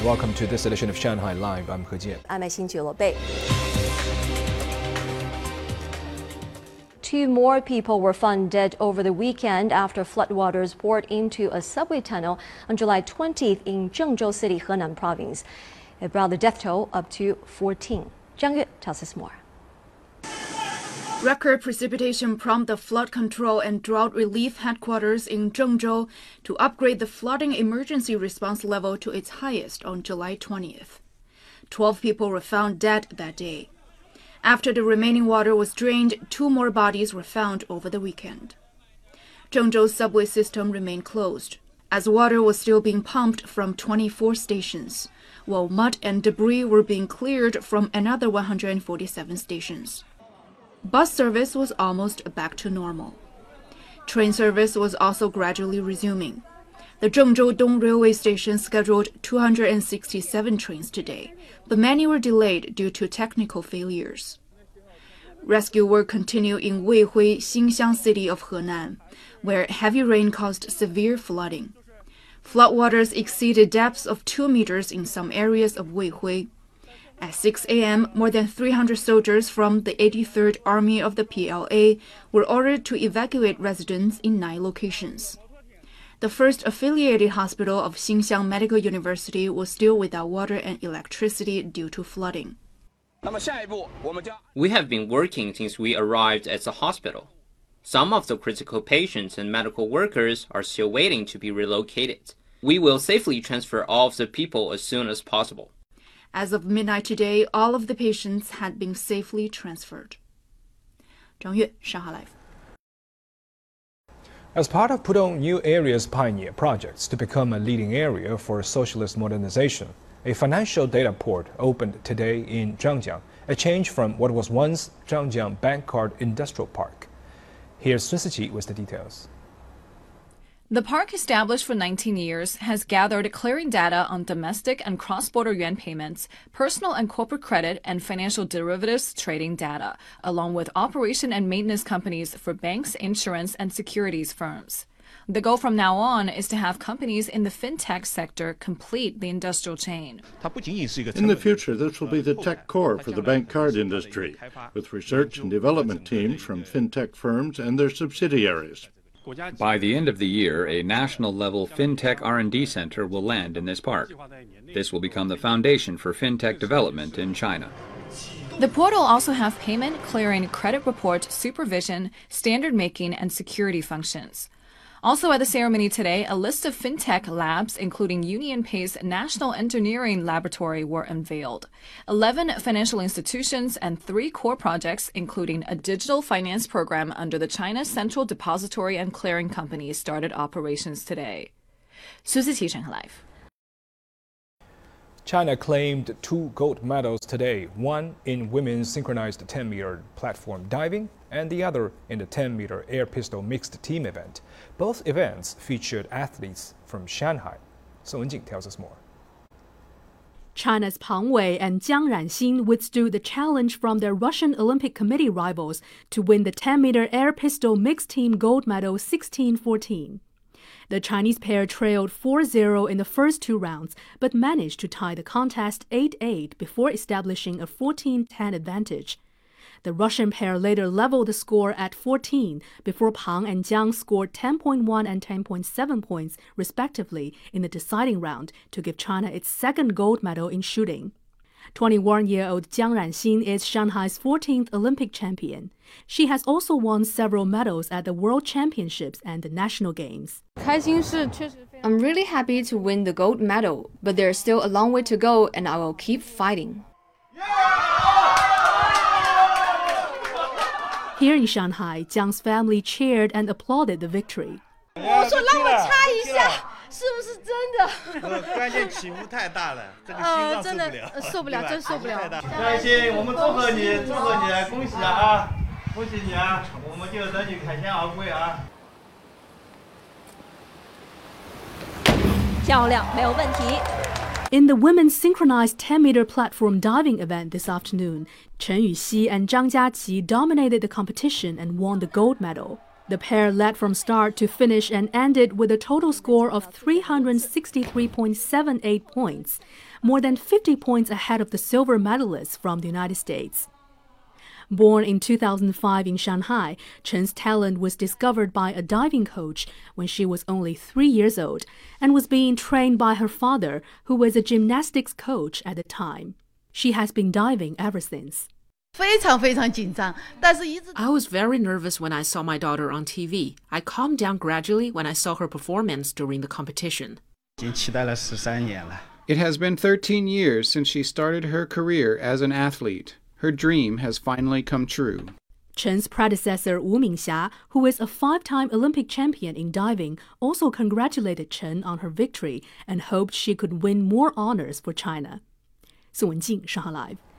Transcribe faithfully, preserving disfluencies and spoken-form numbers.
Welcome to this edition of Shanghai Live. I'm He Jian. I'm Xin Bei. Two more people were found dead over the weekend after floodwaters poured into a subway tunnel on July twentieth in Zhengzhou City, Henan Province. It brought the death toll up to fourteen. Zhang Yue tells us more. Record precipitation prompted the Flood Control and Drought Relief Headquarters in Zhengzhou to upgrade the flooding emergency response level to its highest on July twentieth. Twelve people were found dead that day. After the remaining water was drained, two more bodies were found over the weekend. Zhengzhou's subway system remained closed, as water was still being pumped from twenty-four stations, while mud and debris were being cleared from another one hundred forty-seven stations. Bus service was almost back to normal. Train service was also gradually resuming. The Zhengzhou Dong Railway Station scheduled two hundred sixty-seven trains today, but many were delayed due to technical failures. Rescue work continued in Weihui, Xinxiang City of Henan, where heavy rain caused severe flooding. Floodwaters exceeded depths of two meters in some areas of Weihui. At six a m, more than three hundred soldiers from the eighty-third Army of the P L A were ordered to evacuate residents in nine locations. The first affiliated hospital of Xinxiang Medical University was still without water and electricity due to flooding. We have been working since we arrived at the hospital. Some of the critical patients and medical workers are still waiting to be relocated. We will safely transfer all of the people as soon as possible. As of midnight today, all of the patients had been safely transferred. Zhang Yue, Shanghai Live. As part of Pudong New Area's pioneer projects to become a leading area for socialist modernization, a financial data port opened today in Zhangjiang, a change from what was once Zhangjiang Bank Card Industrial Park. Here's Sun Siqi with the details. The park, established for nineteen years, has gathered clearing data on domestic and cross-border yuan payments, personal and corporate credit, and financial derivatives trading data, along with operation and maintenance companies for banks, insurance, and securities firms. The goal from now on is to have companies in the fintech sector complete the industrial chain. In the future, this will be the tech core for the bank card industry, with research and development teams from fintech firms and their subsidiaries. By the end of the year, a national-level FinTech R and D center will land in this park. This will become the foundation for FinTech development in China. The port will also have payment, clearing, credit report, supervision, standard making, and security functions. Also at the ceremony today, a list of fintech labs, including UnionPay's National Engineering Laboratory, were unveiled. Eleven financial institutions and three core projects, including a digital finance program under the China Central Depository and Clearing Company, started operations today. Sun Siqi, Shanghai Live. China claimed two gold medals today, one in women's synchronized ten meter platform diving and the other in the ten meter air pistol mixed team event. Both events featured athletes from Shanghai. Song Wenjing tells us more. China's Pang Wei and Jiang Ranxin withstood the challenge from their Russian Olympic Committee rivals to win the ten meter air pistol mixed team gold medal sixteen fourteen. The Chinese pair trailed four zero in the first two rounds, but managed to tie the contest eight eight before establishing a fourteen ten advantage. The Russian pair later leveled the score at fourteen before Pang and Jiang scored ten point one and ten point seven points, respectively, in the deciding round to give China its second gold medal in shooting. twenty-one-year-old Jiang Ranxin is Shanghai's fourteenth Olympic champion. She has also won several medals at the World Championships and the National Games. I'm really happy to win the gold medal, but there's still a long way to go and I will keep fighting. Here in Shanghai, Jiang's family cheered and applauded the victory. 我说让我擦一下，是不是真的？关键起伏太大了，这个心脏受不了，受不了，真受不了。开心，我们祝贺你，祝贺你，恭喜啊！恭喜你啊！我们就等你凯旋而归啊！ 漂亮，没有问题。 In the women's synchronized ten meter platform diving event this afternoon, Chen Yuxi and Zhang Jiaqi dominated the competition and won the gold medal. The pair led from start to finish and ended with a total score of three hundred sixty-three point seven eight points, more than fifty points ahead of the silver medalists from the United States. Born in two thousand five in Shanghai, Chen's talent was discovered by a diving coach when she was only three years old and was being trained by her father, who was a gymnastics coach at the time. She has been diving ever since. I was very nervous when I saw my daughter on T V. I calmed down gradually when I saw her performance during the competition. It has been thirteen years since she started her career as an athlete. Her dream has finally come true. Chen's predecessor Wu Mingxia, who is a five-time Olympic champion in diving, also congratulated Chen on her victory and hoped she could win more honors for China. 宋文静，上海 Live。